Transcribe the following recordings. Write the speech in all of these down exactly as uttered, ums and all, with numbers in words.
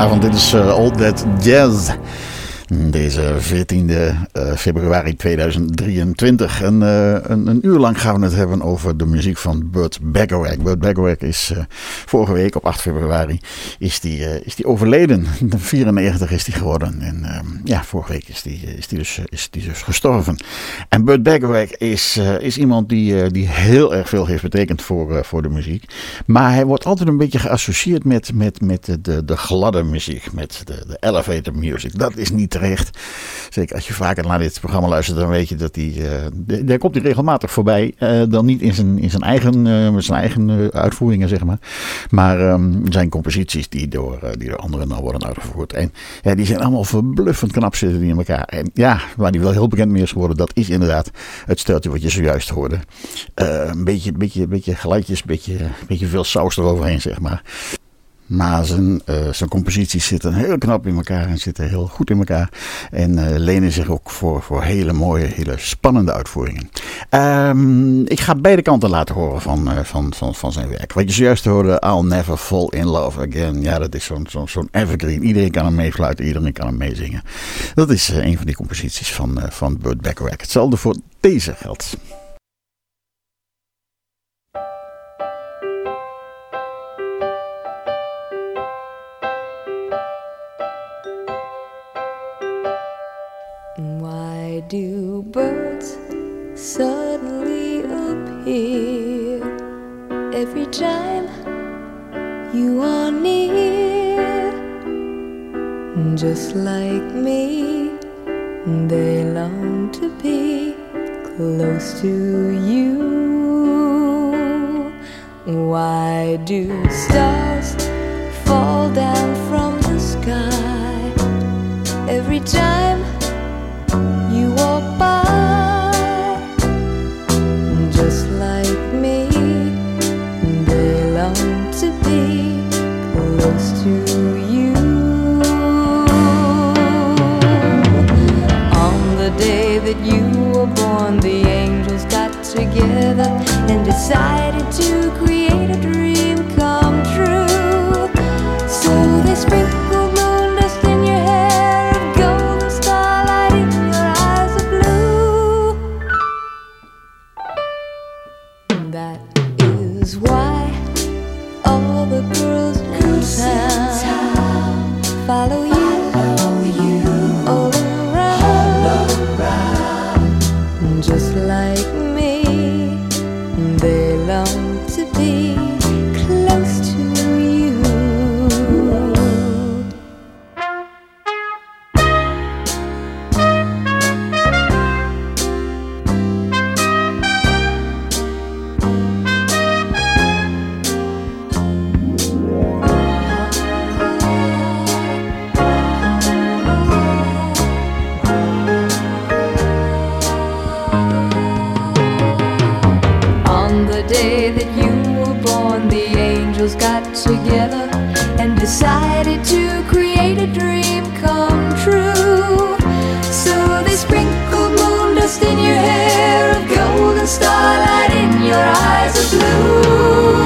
Goedenavond, dit is uh, All That Jazz. Deze veertiende uh, februari tweeduizend drieëntwintig. En, uh, een, een uur lang gaan we het hebben over de muziek van Burt Bacharach. Burt Bacharach is uh, vorige week op acht februari is die, uh, is die overleden. vierennegentig is die geworden. En uh, ja, vorige week is die, is die, dus, is die dus gestorven. En Burt Bacharach is, uh, is iemand die, uh, die heel erg veel heeft betekend voor, uh, voor de muziek. Maar hij wordt altijd een beetje geassocieerd met, met, met de, de, de gladde muziek. Met de, de elevator music. Dat is niet terecht. Zeker als je vaker naar dit programma luistert, dan weet je dat hij, uh, daar komt hij regelmatig voorbij. Uh, dan niet in zijn, in zijn eigen, uh, zijn eigen uh, uitvoeringen, zeg maar. Maar um, zijn composities die door, uh, die door anderen dan worden uitgevoerd. En ja, die zijn allemaal verbluffend knap zitten die in elkaar. En ja, waar die wel heel bekend mee is geworden, dat is inderdaad het steltje wat je zojuist hoorde. Uh, een beetje, beetje, beetje geluidjes, een beetje, beetje veel saus eroverheen, zeg maar. Maar zijn, uh, zijn composities zitten heel knap in elkaar en zitten heel goed in elkaar. En uh, lenen zich ook voor, voor hele mooie, hele spannende uitvoeringen. Um, ik ga beide kanten laten horen van, uh, van, van, van zijn werk. Wat je zojuist hoorde, I'll Never Fall in Love Again. Ja, dat is zo'n, zo'n, zo'n evergreen. Iedereen kan hem meefluiten, iedereen kan hem meezingen. Dat is uh, een van die composities van, uh, van Burt Bacharach. Hetzelfde voor deze geldt. Why do birds suddenly appear every time you are near? Just like me, they long to be close to you. Why do stars fall down from the sky every time you walk by? Just like me, they long to be close to you. On the day that you were born, the angels got together and decided to create a dream come true. So they sprinkled moon dust in your hair and golden starlight in your eyes of blue. That is why all the girls in town follow you, all around. Just like me, they long to be close to you. On the day that you were born, the angels got together and decided to create a dream come true. So they sprinkled moon dust in your hair, of golden starlight in your eyes of blue.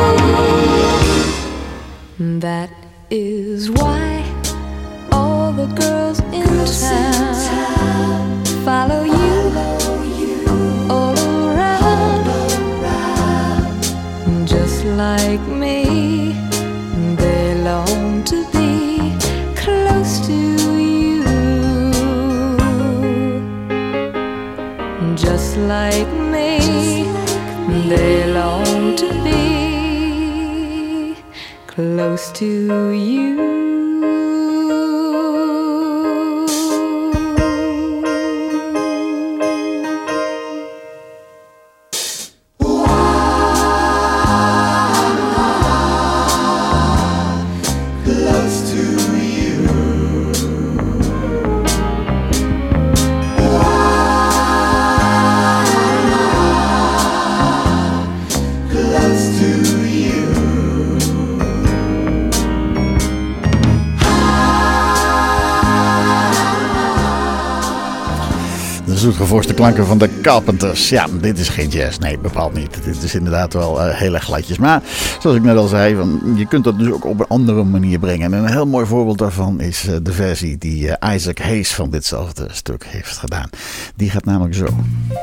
That is why all the girls in town follow you, all around. Just like me, they long to be close to you. Just like me, they long to be close to you. zoetgevoiste klanken van de Carpenters. Ja, dit is geen jazz. Nee, bepaald niet. Dit is inderdaad wel uh, heel erg gladjes. Maar zoals ik net al zei, van, je kunt dat dus ook op een andere manier brengen. En een heel mooi voorbeeld daarvan is uh, de versie die uh, Isaac Hayes van ditzelfde stuk heeft gedaan. Die gaat namelijk zo.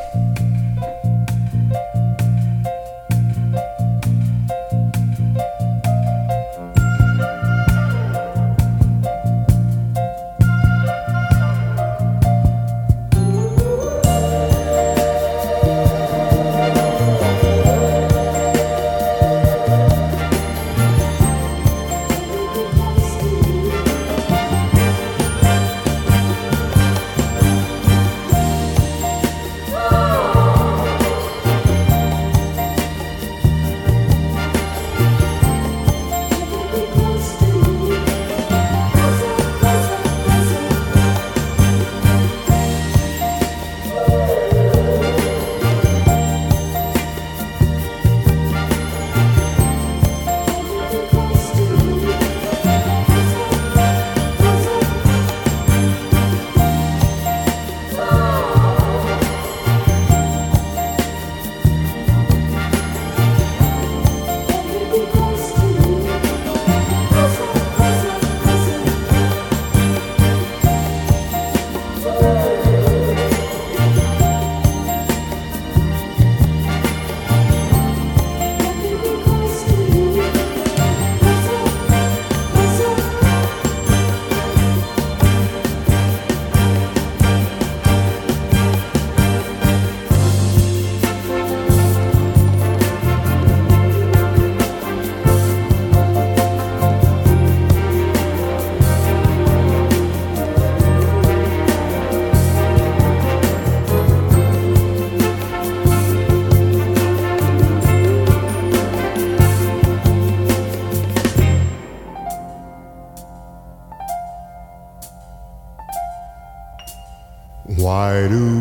Why do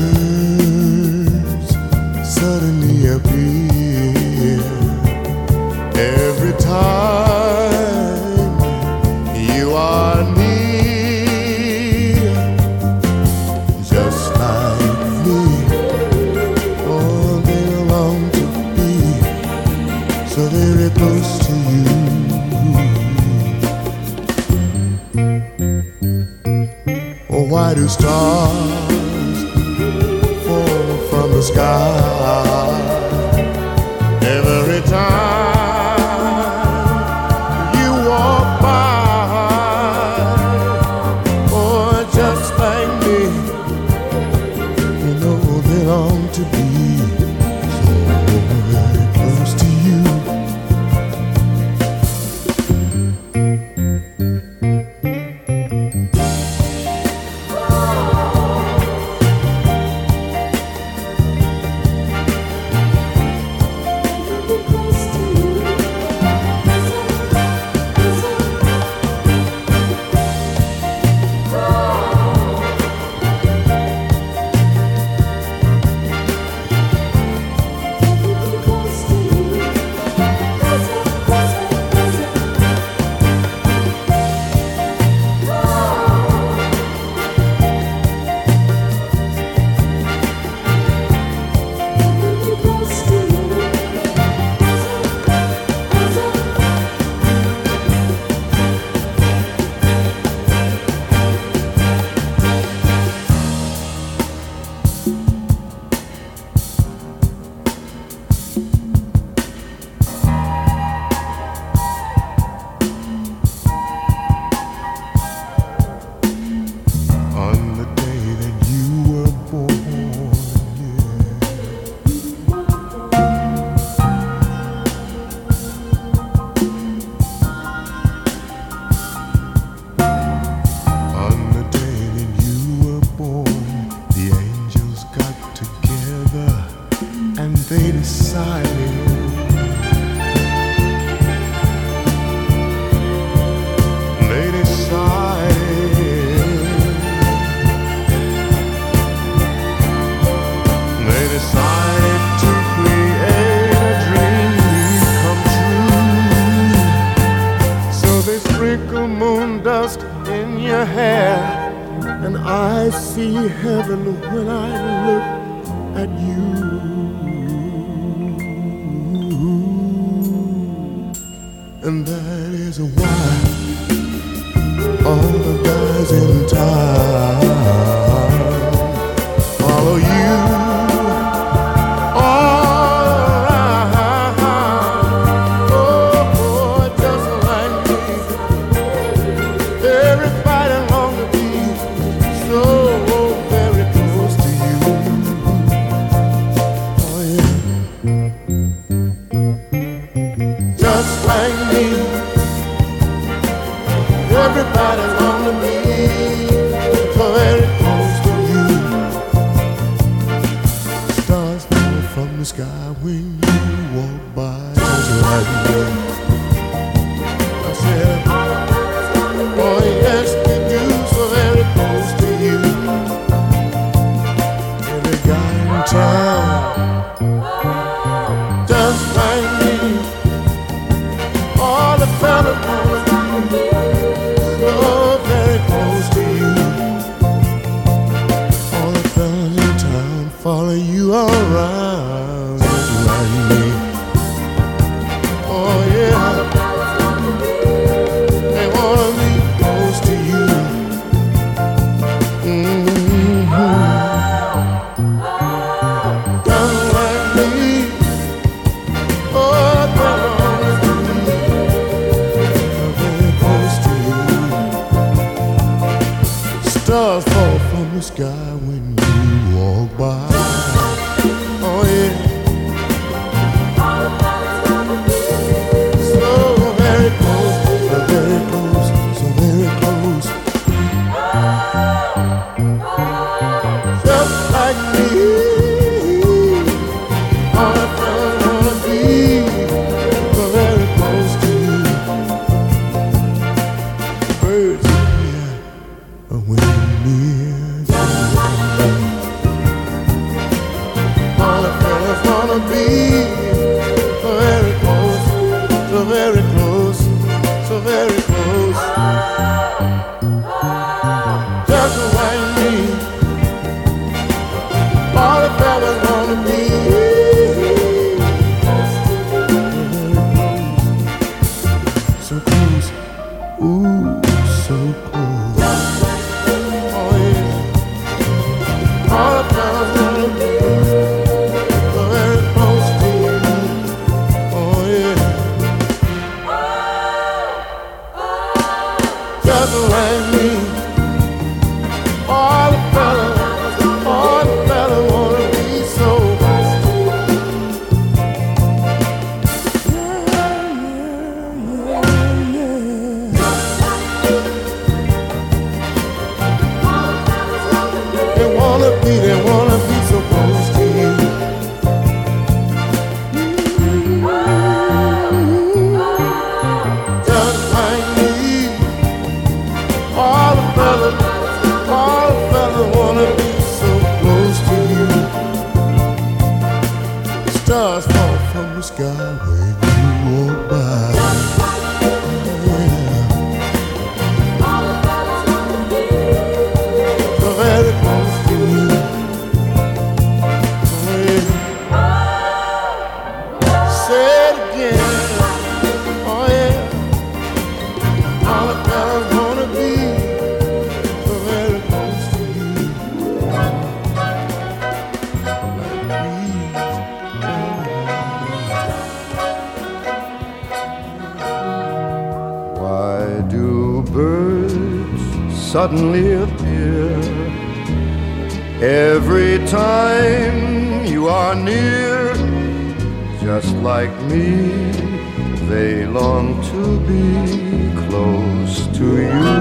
birds suddenly appear every time you are near? Just like me, oh, they long to be so very close to you. Oh, why do stars fall from the sky every time you walk by? Oh, just like me, you know they long to be so very close to you. and I see heaven when I look at you. And that is why all the guys in town follow you all around. Oh, oh, just like me. Everybody long to be so very close to you. Oh yeah, just like me. Everybody long to be so very close to you. Stars fall from the sky when you walk by, just like me. I said, oh yes, they do, so very close to you. Every guy in town, just like me. All the fellas wanna be so very close to you. All the fellas in town follow you around, just like me. Oh yeah, they wanna be close to you. Mm-hmm. Just like me. Oh, they wanna be very close to you. Stars fall from the sky when you walk by. Oh yeah. So very close, so very close, so very close. Just like me. All I wanna be so very close to you. Birds in the air when you're near to me. All the fellas wanna be so very close, so very close, so very close. Just like me. All the fellas wanna be so close, ooh, so close. Oh yeah. All the fellas wanna be so very close to you. Oh yeah. Just like me. All the fellas, all the fellas wanna be so close to you. Yeah, yeah, yeah, yeah. They wanna be, they wanna be so close to you. Just like me. All the fellas, all the fellas wanna be so close to you. Stars fall from the sky when you walk by. Yeah. So very close to you. Yeah. Say it again. Oh yeah. All the fellas wanna be so very close to you. Like breeze. Why do birds suddenly appear every time you are near? Just like me, they long to be close to you.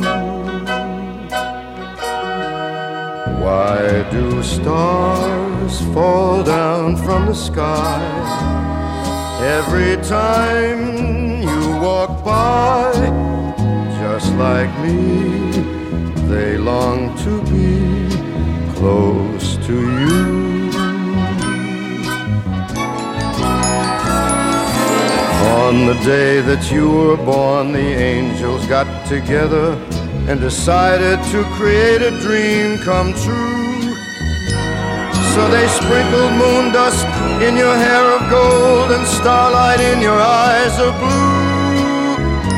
Why do stars fall down from the sky every time you walk by? Just like me, they long to be close to you. On the day that you were born, the angels got together and decided to create a dream come true. So they sprinkled moon dust in your hair of gold and starlight in your eyes of blue.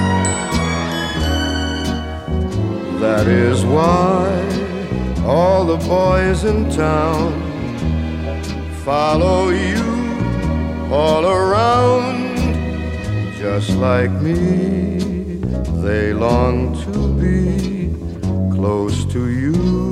That is why all the boys in town follow you all around. Just like me, they long to be close to you.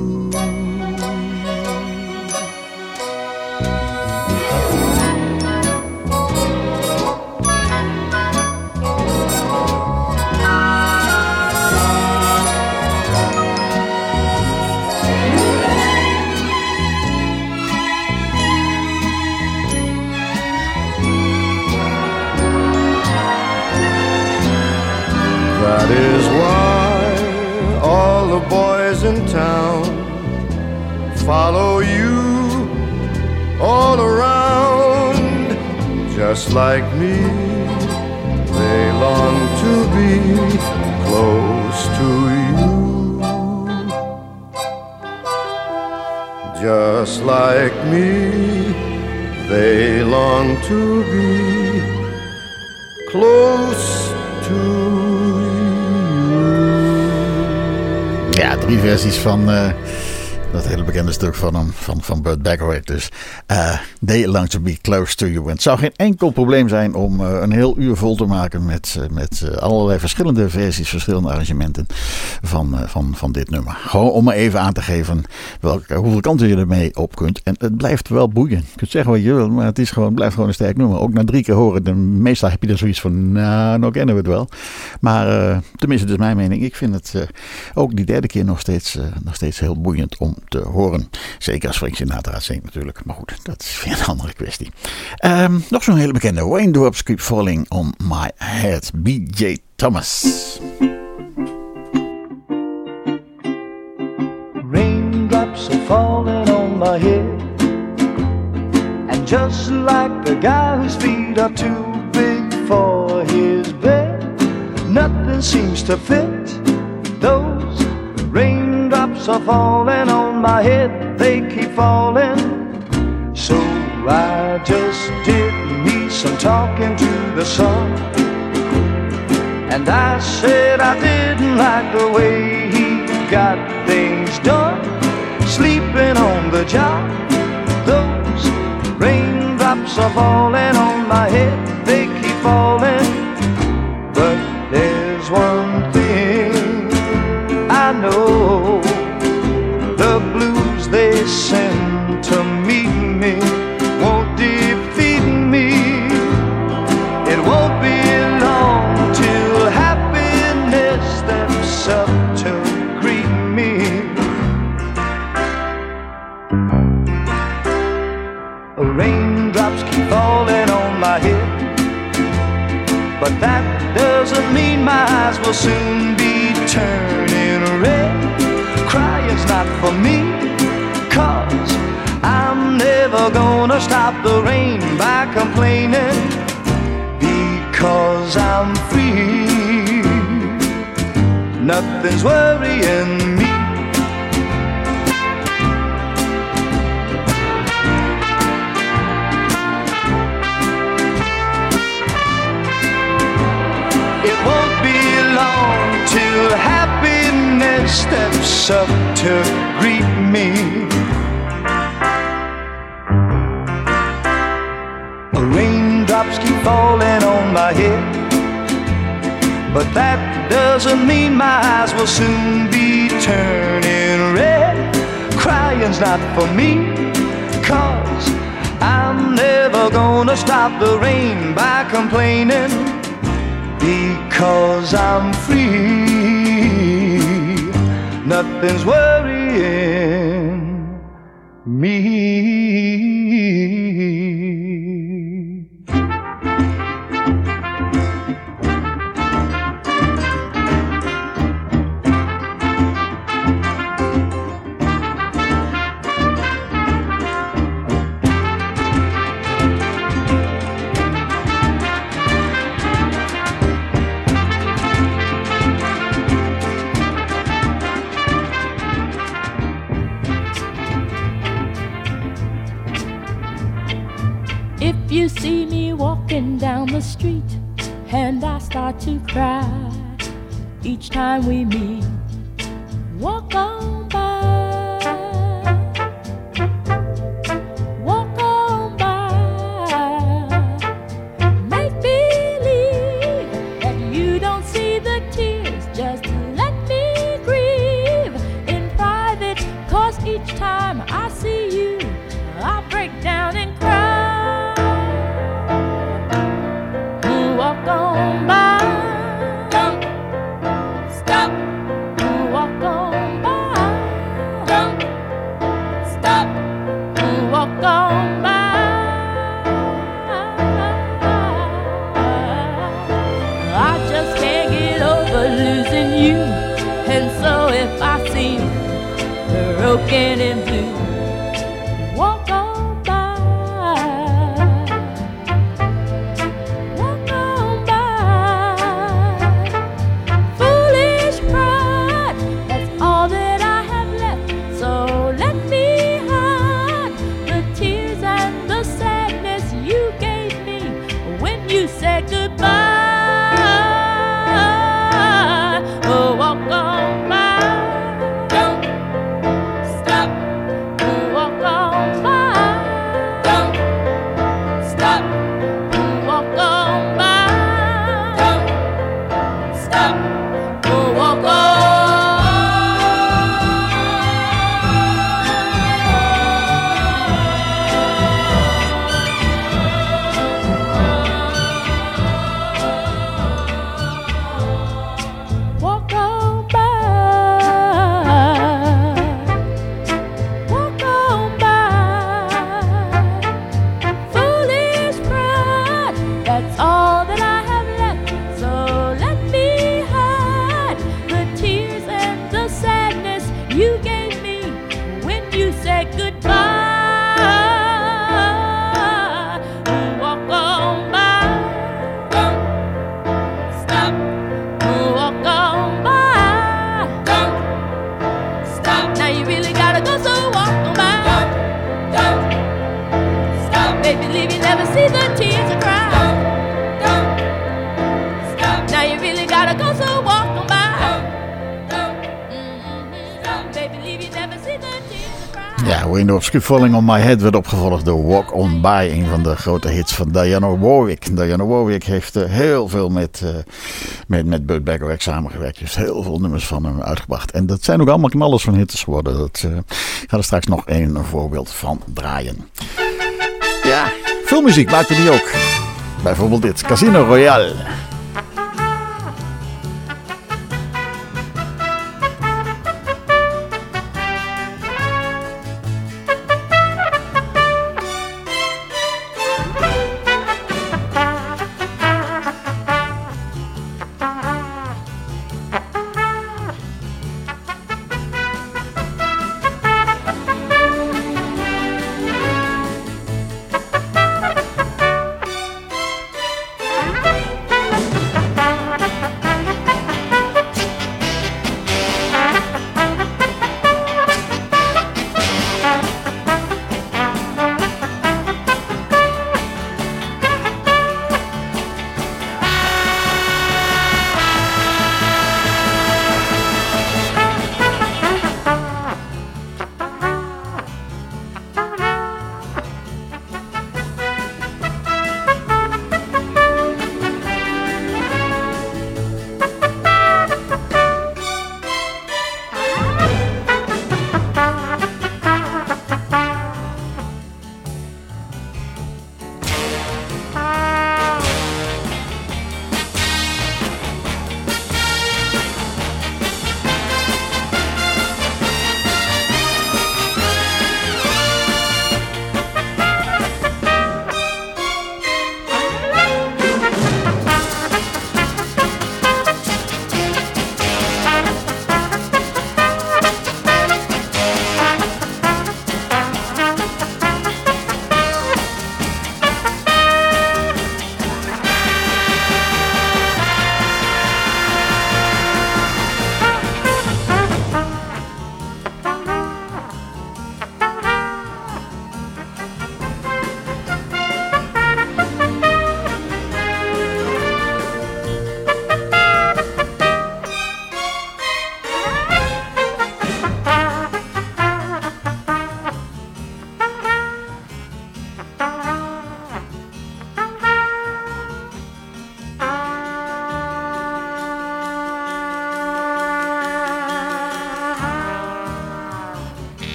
That is why all the boys in town follow you all around. Just like me, they long to be close to you. Just like me, they long to be close to you. Ja, drie versies van uh, dat hele bekende stuk van hem, van, van Burt Bacharach. Dus uh, They Long to Be Close to You. En het zou geen enkel probleem zijn om uh, een heel uur vol te maken met, uh, met uh, allerlei verschillende versies, verschillende arrangementen van, uh, van, van dit nummer. Gewoon om maar even aan te geven welke, hoeveel kanten je ermee op kunt. En het blijft wel boeien. Je kunt zeggen wat je wil, maar het is gewoon, blijft gewoon een sterk nummer. Ook na drie keer horen, dan, meestal heb je er zoiets van, nou, nou kennen we het wel. Maar uh, tenminste, dat is mijn mening. Ik vind het uh, ook die derde keer nog steeds, uh, nog steeds heel boeiend om te horen. Zeker als Frank Sinatra zingt natuurlijk. Maar goed, dat is weer een andere kwestie. Um, nog zo'n hele bekende. Raindrops Keep Falling on My Head. B J Thomas. Raindrops are falling on my head, and just like the guy whose feet are too big for his bed, nothing seems to fit. Those raindrops are falling on my head, they keep falling. So I just did me some talking to the sun, and I said I didn't like the way he got things done, sleeping on the job. Those raindrops are falling on my head, they keep falling. But there's one thing I know, the blues they send to meet me won't defeat me. It won't be long till happiness steps up to greet me. Raindrops keep falling on my head, but that doesn't mean my eyes will soon be turning red. Crying's not for me, 'cause I'm never gonna stop the rain by complaining, because I'm free. Nothing's worrying me. It won't be long till happiness steps up to greet me. Raindrops keep falling on my head, but that doesn't mean my eyes will soon be turning red. Crying's not for me, 'cause I'm never gonna stop the rain by complaining, because I'm free. Nothing's worrying me. the street and I start to cry each time we meet. Walk on by, walk on by. Make believe that you don't see the tears. Just let me grieve in private, 'cause each time I see you, I break down and cry. Walk on by, don't stop. Walk on by, don't stop. Walk on by. I just can't get over losing you, and so if I seem broken and blue, walk on by, walk on by. Foolish pride, that's all that I have left. So let me hide the tears and the sadness you gave me when you said goodbye. Oh, walk on by, don't stop. Walk on by, don't stop. Walk on by, don't stop. Oh, walk on. Walk on by, walk on by. Foolish pride, that's all that I have left. So let me hide the tears and the sadness you gave me when you said goodbye. Walk on by, don't stop. Walk on by, don't stop. Now you really gotta go, so walk on by. Don't, don't stop. Baby, leave you never see the tears I cry. Don't, don't stop. Now you really gotta go, so walk on by. Don't, don't stop. Baby, leave you never see the tears I cry. Ja, Raindrops Keep Falling on My Head werd opgevolgd door Walk On By, een van de grote hits van Diana Warwick. Diana Warwick heeft uh, heel veel met, uh, met, met Burt Bacharach samengewerkt. Heeft heel veel nummers van hem uitgebracht. En dat zijn ook allemaal knallers van hits geworden. Dat uh, ik ga er straks nog een voorbeeld van draaien. Ja, veel muziek maakte die ook. Bijvoorbeeld dit, Casino Royale.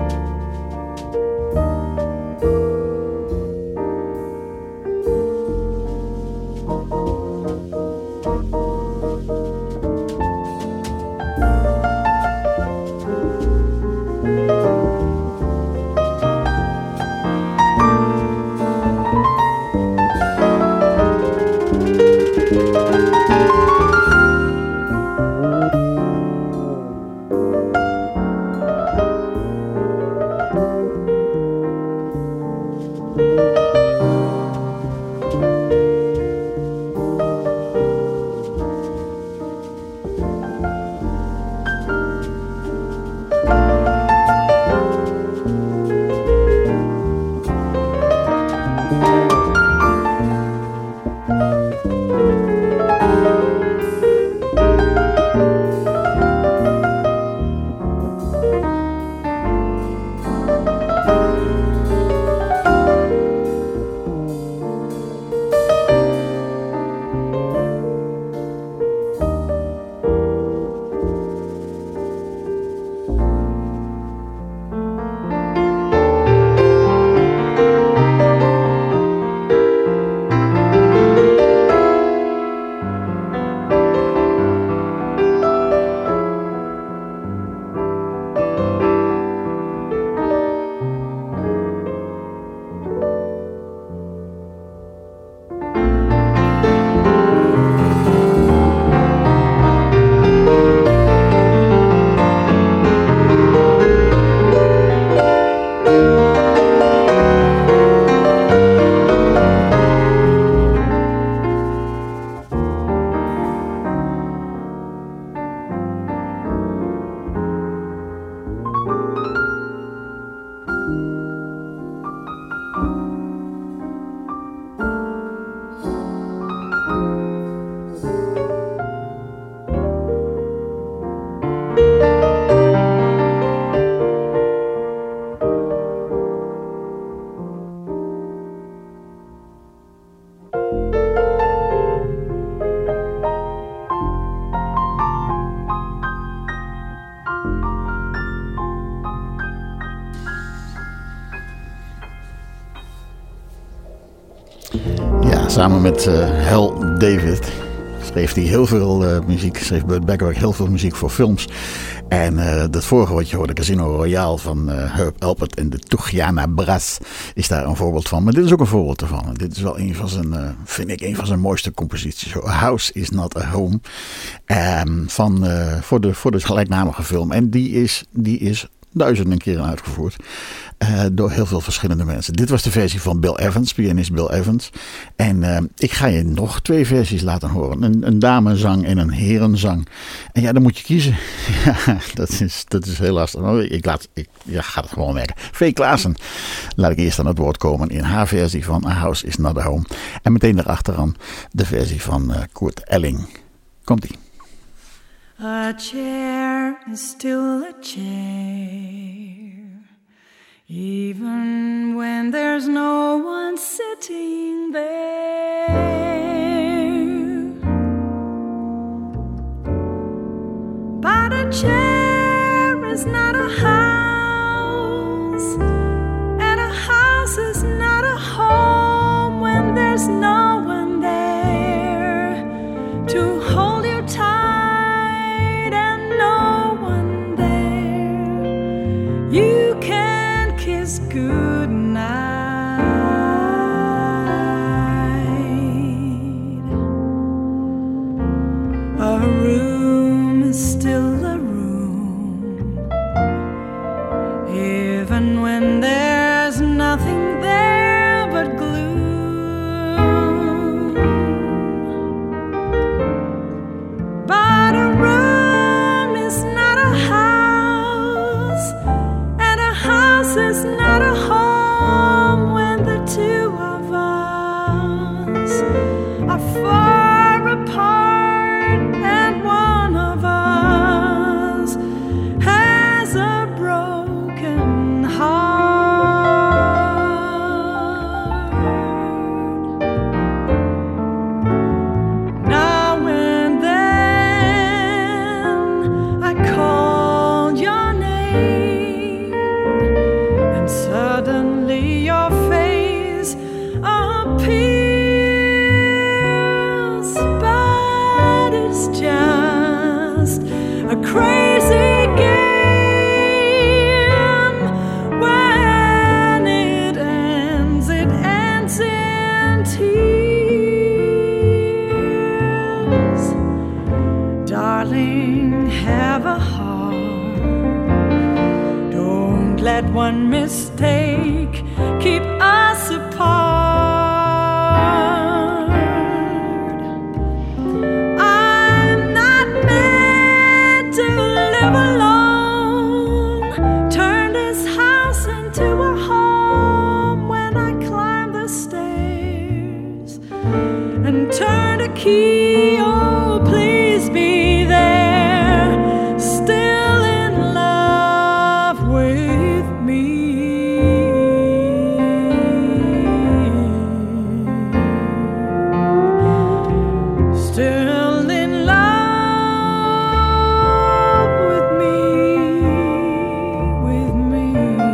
Samen met uh, Hal David schreef hij heel veel uh, muziek. Schreef Burt Bacharach heel veel muziek voor films. En uh, dat vorige wat je hoorde, Casino Royale van uh, Herb Alpert en de Tugiana Brass, is daar een voorbeeld van. Maar dit is ook een voorbeeld ervan. Dit is wel een van zijn, uh, vind ik, een van zijn mooiste composities. A House is Not a Home. Um, van, uh, voor, de, voor de gelijknamige film. En die is, die is duizenden keren uitgevoerd. Uh, door heel veel verschillende mensen. Dit was de versie van Bill Evans, pianist Bill Evans. En uh, ik ga je nog twee versies laten horen. Een, een damezang en een herenzang. En ja, dan moet je kiezen. Ja, dat is, dat is heel lastig. Ik, laat, ik ja, ga het gewoon merken. Vee Klaassen. Laat ik eerst aan het woord komen in haar versie van A House is Not a Home. En meteen daarachteraan de versie van uh, Kurt Elling. Komt-ie. A chair is still a chair, even when there's no one sitting there. But a chair is not a house, and a house is not a home when there's no one there to hold you tight and no one there. You can kiss goodnight. A room is still a room, even when there's nothing there but gloom. But a room is not a house, and a house is not a home when the two of us are far apart, and one of us has a broken heart. Now and then I call your name, mistake keep us apart. I'm not meant to live alone. Turned this house into a home when I climbed the stairs and turned a key. Oh, please be there, still in love with me. Still in love with me, with me.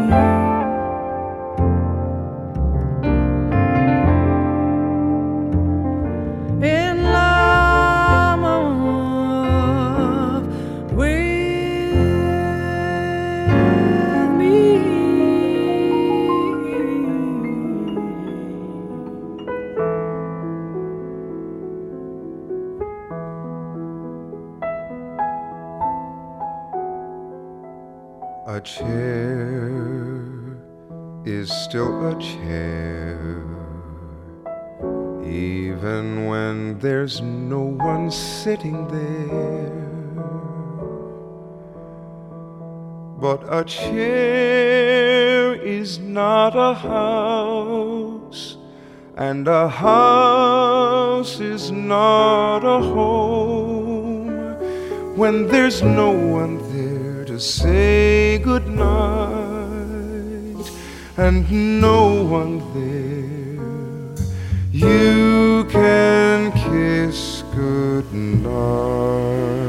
In love with me. A chair is still a chair, even when there's no one sitting there. But a chair is not a house, and a house is not a home when there's no one there to say goodnight, and no one there you can kiss goodnight.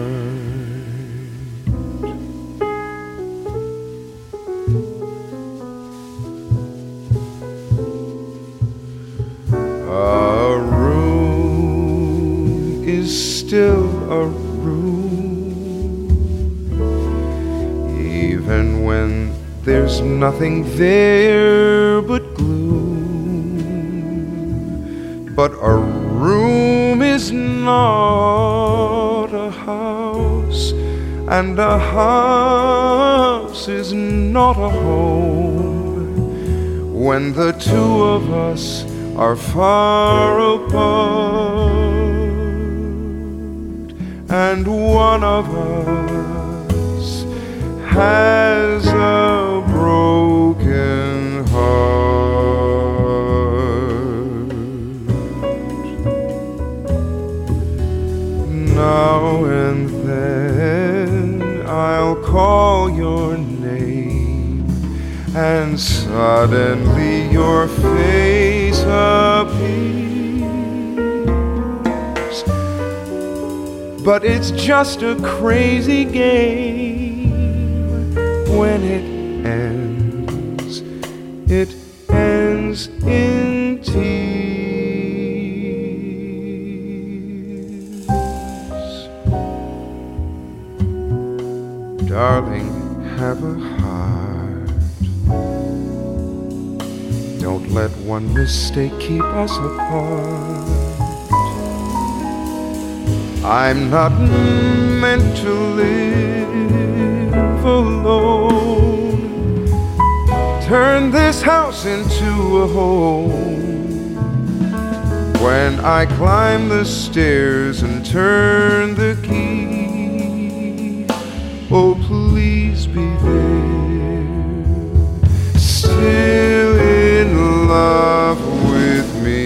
A room is still a room, even when there's nothing there but gloom. But a room is not a house, and a house is not a home when the two of us are far apart, and one of us has a broken heart. Now and then I'll call your name, and suddenly your face appears. But it's just a crazy game. When it ends, it ends in tears. Darling, have a heart. Don't let one mistake keep us apart. I'm not meant to live alone. Turn this house into a home when I climb the stairs and turn the key. Oh, please be there, still in love with me.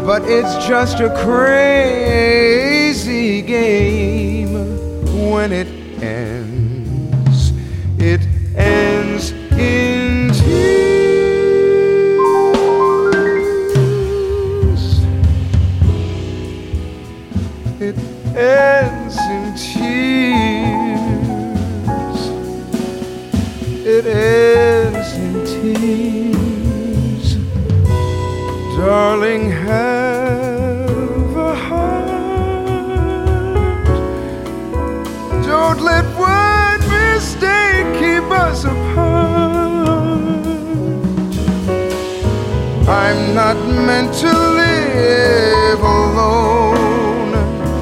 but it's just a crazy game. When it ends, it ends in tears. It ends in tears. It ends in tears. Darling, have a heart. Don't let one mistake keep us apart. I'm not meant to live alone.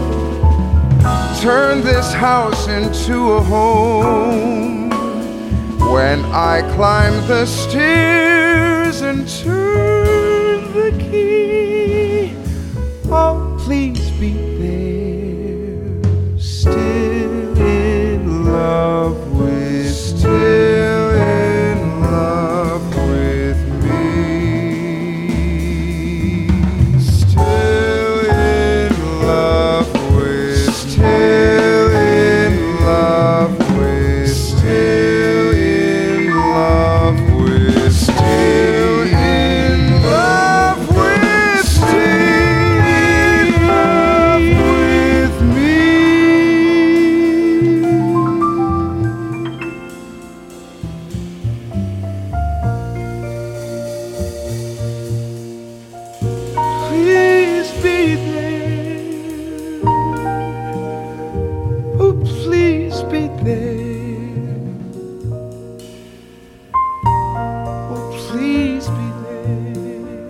Turn this house into a home. When I climb the stairs and turn the key, oh, please be there, still in love with, still in love with me, still in love with, still in love with, still in love with, still in love with, still in love with me. Please be there. Oh, please be there. Oh, please be there.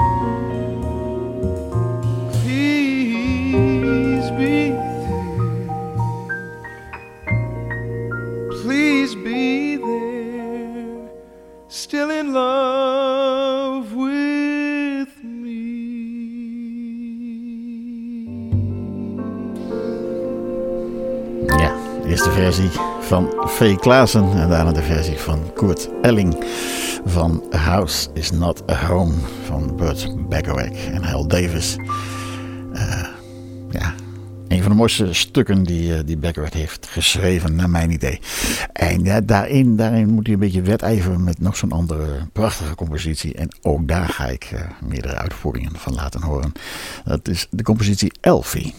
Please be there. Please be there. Still in love with me. Ja, de eerste versie van V. Klaassen en daarna de versie van Kurt Elling van A House Is Not A Home van Burt Bacharach en Hal Davis. Uh, ja, een van de mooiste stukken die, uh, die Bacharach heeft geschreven, naar mijn idee. En ja, daarin, daarin moet hij een beetje wedijveren met nog zo'n andere prachtige compositie. En ook daar ga ik uh, meerdere uitvoeringen van laten horen. Dat is de compositie Elfie.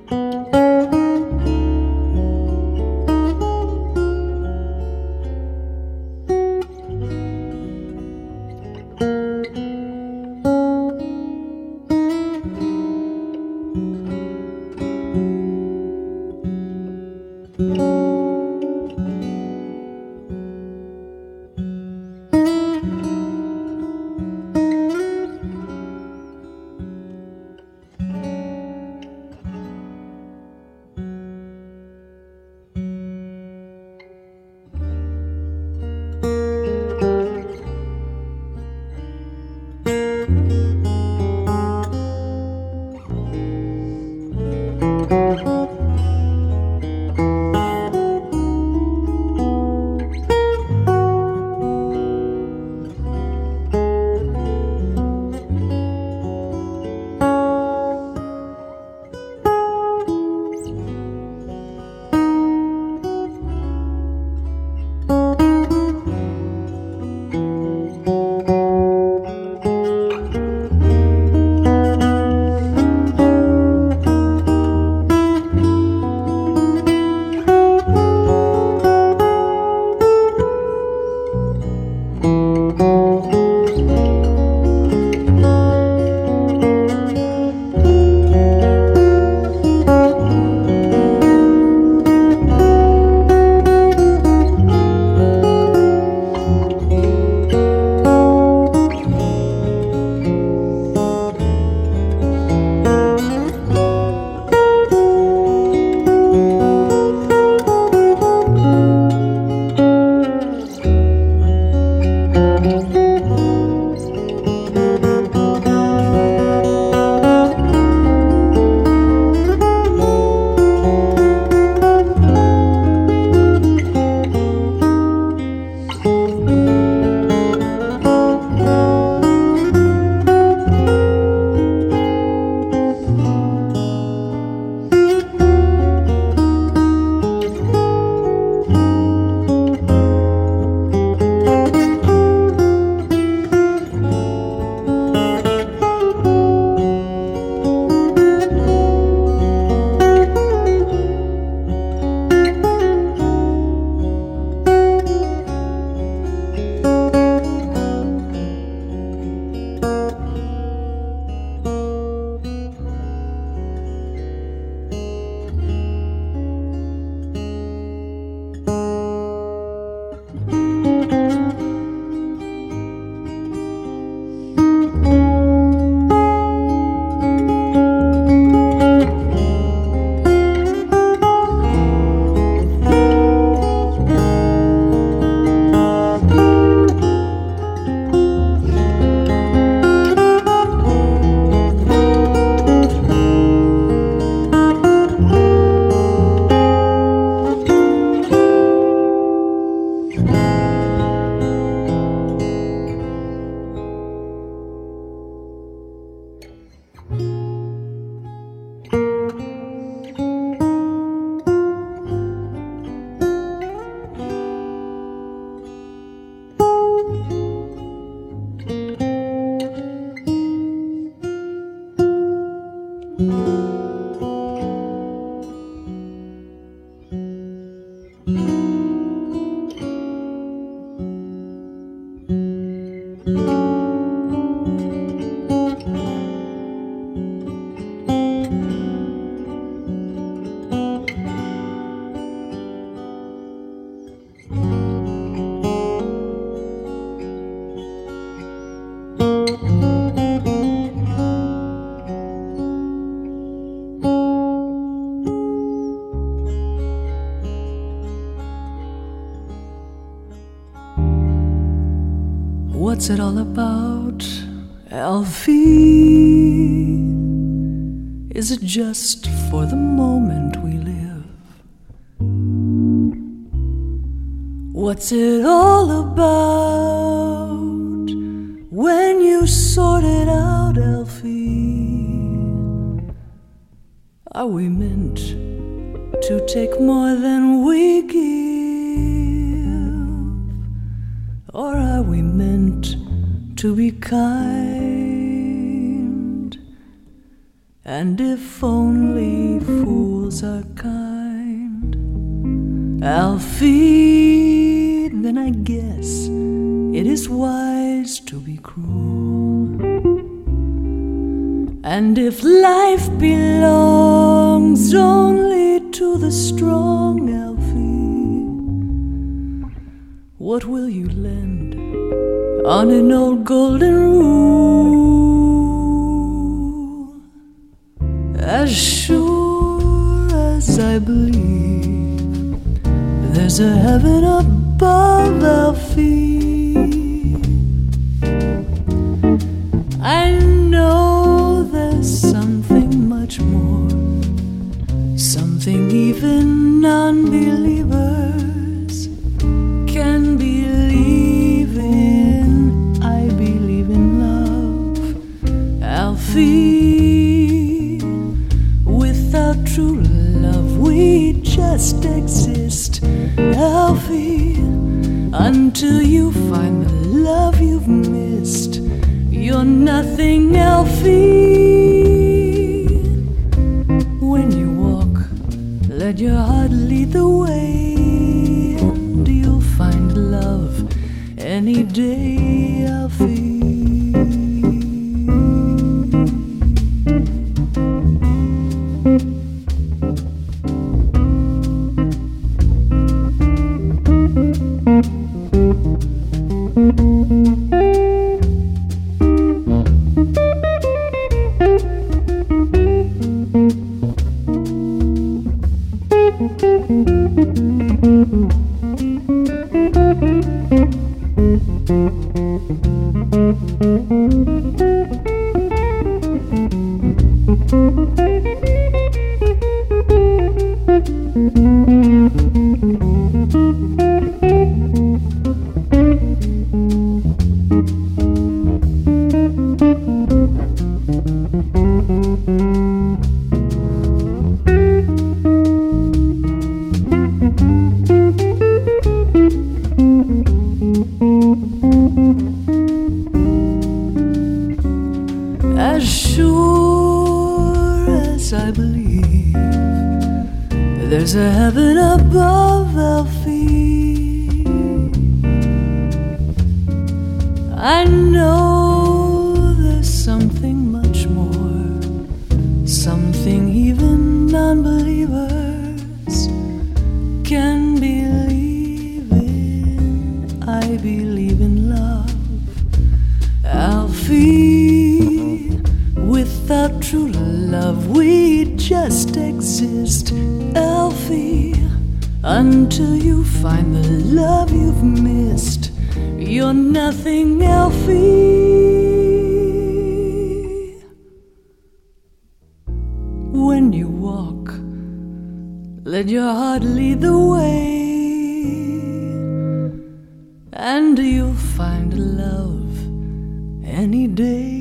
What's it all about, Alfie? Is it just for the moment we live? What's it all about when you sort it out, Alfie? Are we meant to take more than we give? Or are we meant to be kind And if only fools are kind, Alfie, then I guess it is wise to be cruel. And if life belongs only to the strong, Alfie, what will you lend on an old golden rule? As sure as I believe there's a heaven above, Alfie, I know there's something much more, something even non-believers can believe in. I believe in love, Alfie. Without true love we just exist, Alfie. Until you find the love you've missed, you're nothing, Alfie. When you walk, let your heart lead the way, and you'll find love any day, Alfie. As sure as I believe there's a heaven above, Alfie, I know there's something much more, something even non-believers can believe in. I believe in love, Alfie. Without true love we just exist, Alfie. Until you find the love you've missed, you're nothing, Alfie. When you walk, let your heart lead the way, and you'll find love any day.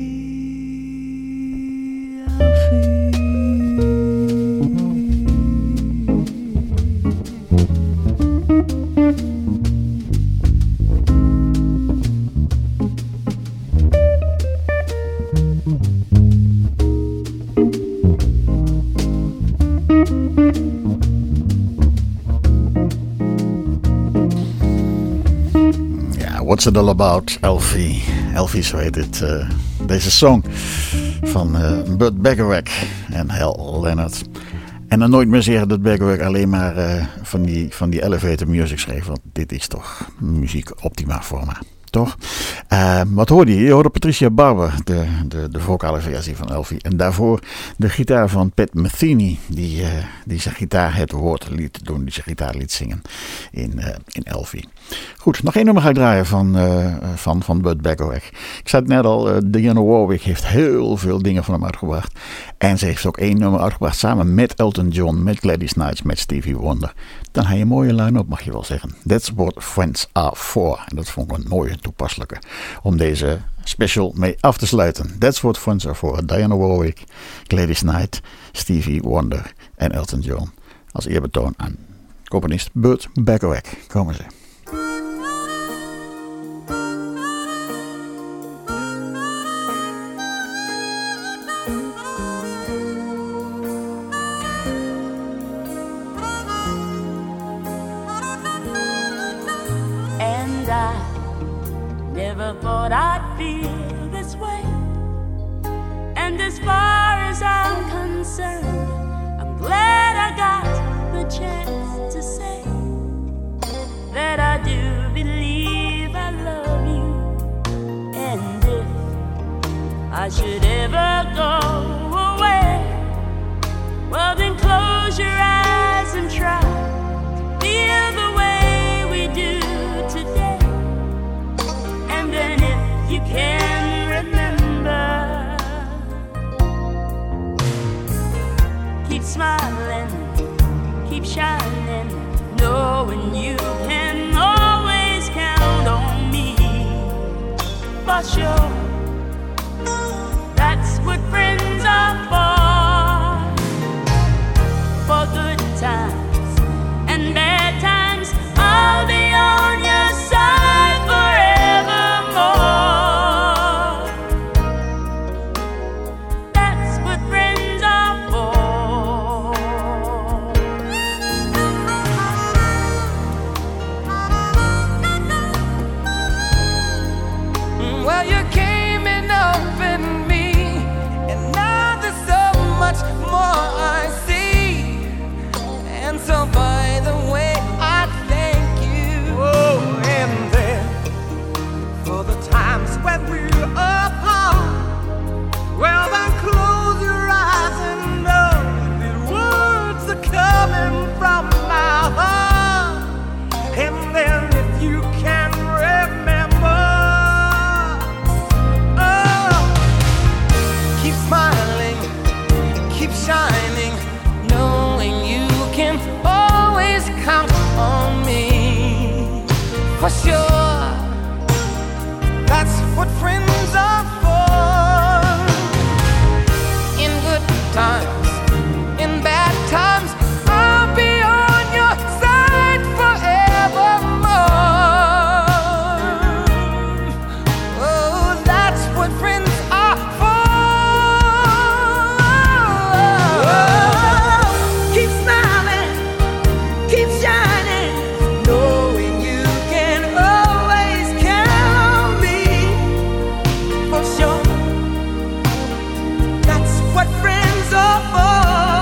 What's it all about, Alfie? Alfie, zo heet het. Uh, deze song van uh, Burt Bacharach en Hal Leonard. En dan nooit meer zeggen dat Bacharach alleen maar uh, van, die, van die elevator music schreef. Want dit is toch muziek optima forma. Toch? Uh, wat hoorde je? Je hoorde Patricia Barber, de, de, de vocale versie van Alfie. En daarvoor de gitaar van Pat Metheny, die, uh, die zijn gitaar het woord liet doen, die zijn gitaar liet zingen in, uh, in Alfie. Goed, nog één nummer ga ik draaien van, uh, van, van Burt Bacharach. Ik zei het net al, uh, Dionne Warwick heeft heel veel dingen van hem uitgebracht. En ze heeft ook één nummer uitgebracht samen met Elton John, met Gladys Knight, met Stevie Wonder. Dan heb je een mooie line-up, mag je wel zeggen. That's what friends are for. En dat vond ik een mooie toepasselijke om deze special mee af te sluiten. That's what friends are for. Dionne Warwick, Gladys Knight, Stevie Wonder en Elton John. Als eerbetoon aan componist Burt Bacharach. Komen ze. feel this way. And as far as I'm concerned, I'm glad I got the chance to say that I do believe I love you. And if I should ever go away, well then close your eyes and try to feel the way we do today. And then if you can remember, keep smiling, keep shining, knowing you can always count on me. For sure, that's what friends are for. For good times and bad times, I'll be on your side forevermore. That's what friends are for. Well, you came in up in me, and now there's so much more I see. And so by the way, I thank you. Oh, and then for the times when we're apart, well then close your eyes and know the words are coming from my heart. And then if you can remember, oh, keep smiling, keep shining, knowing you can always count on me. For sure, that's what friends are for. In good times, in bad times, I'll be on your side forevermore. Oh, that's what friends are for. Keep smiling, keep shining, knowing you can always count on me. For sure, that's what friends are for.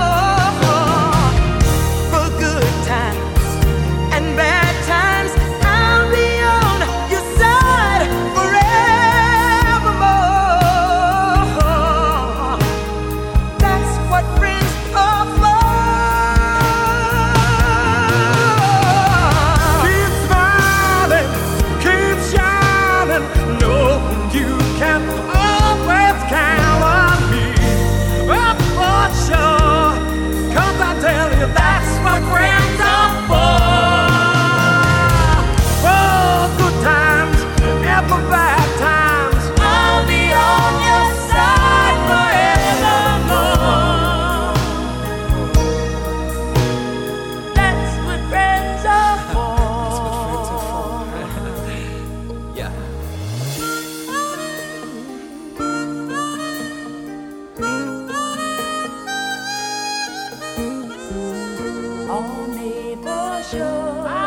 For good times and bad times, I'll be on your side forevermore. That's what friends are for. Keep smiling, keep shining, knowing you can always count on me. Oh, for sure, 'cause I tell you that's what friends are for. For good times and for bad times, I'll be on your side forevermore. That's what friends are for. Yeah. On me for sure.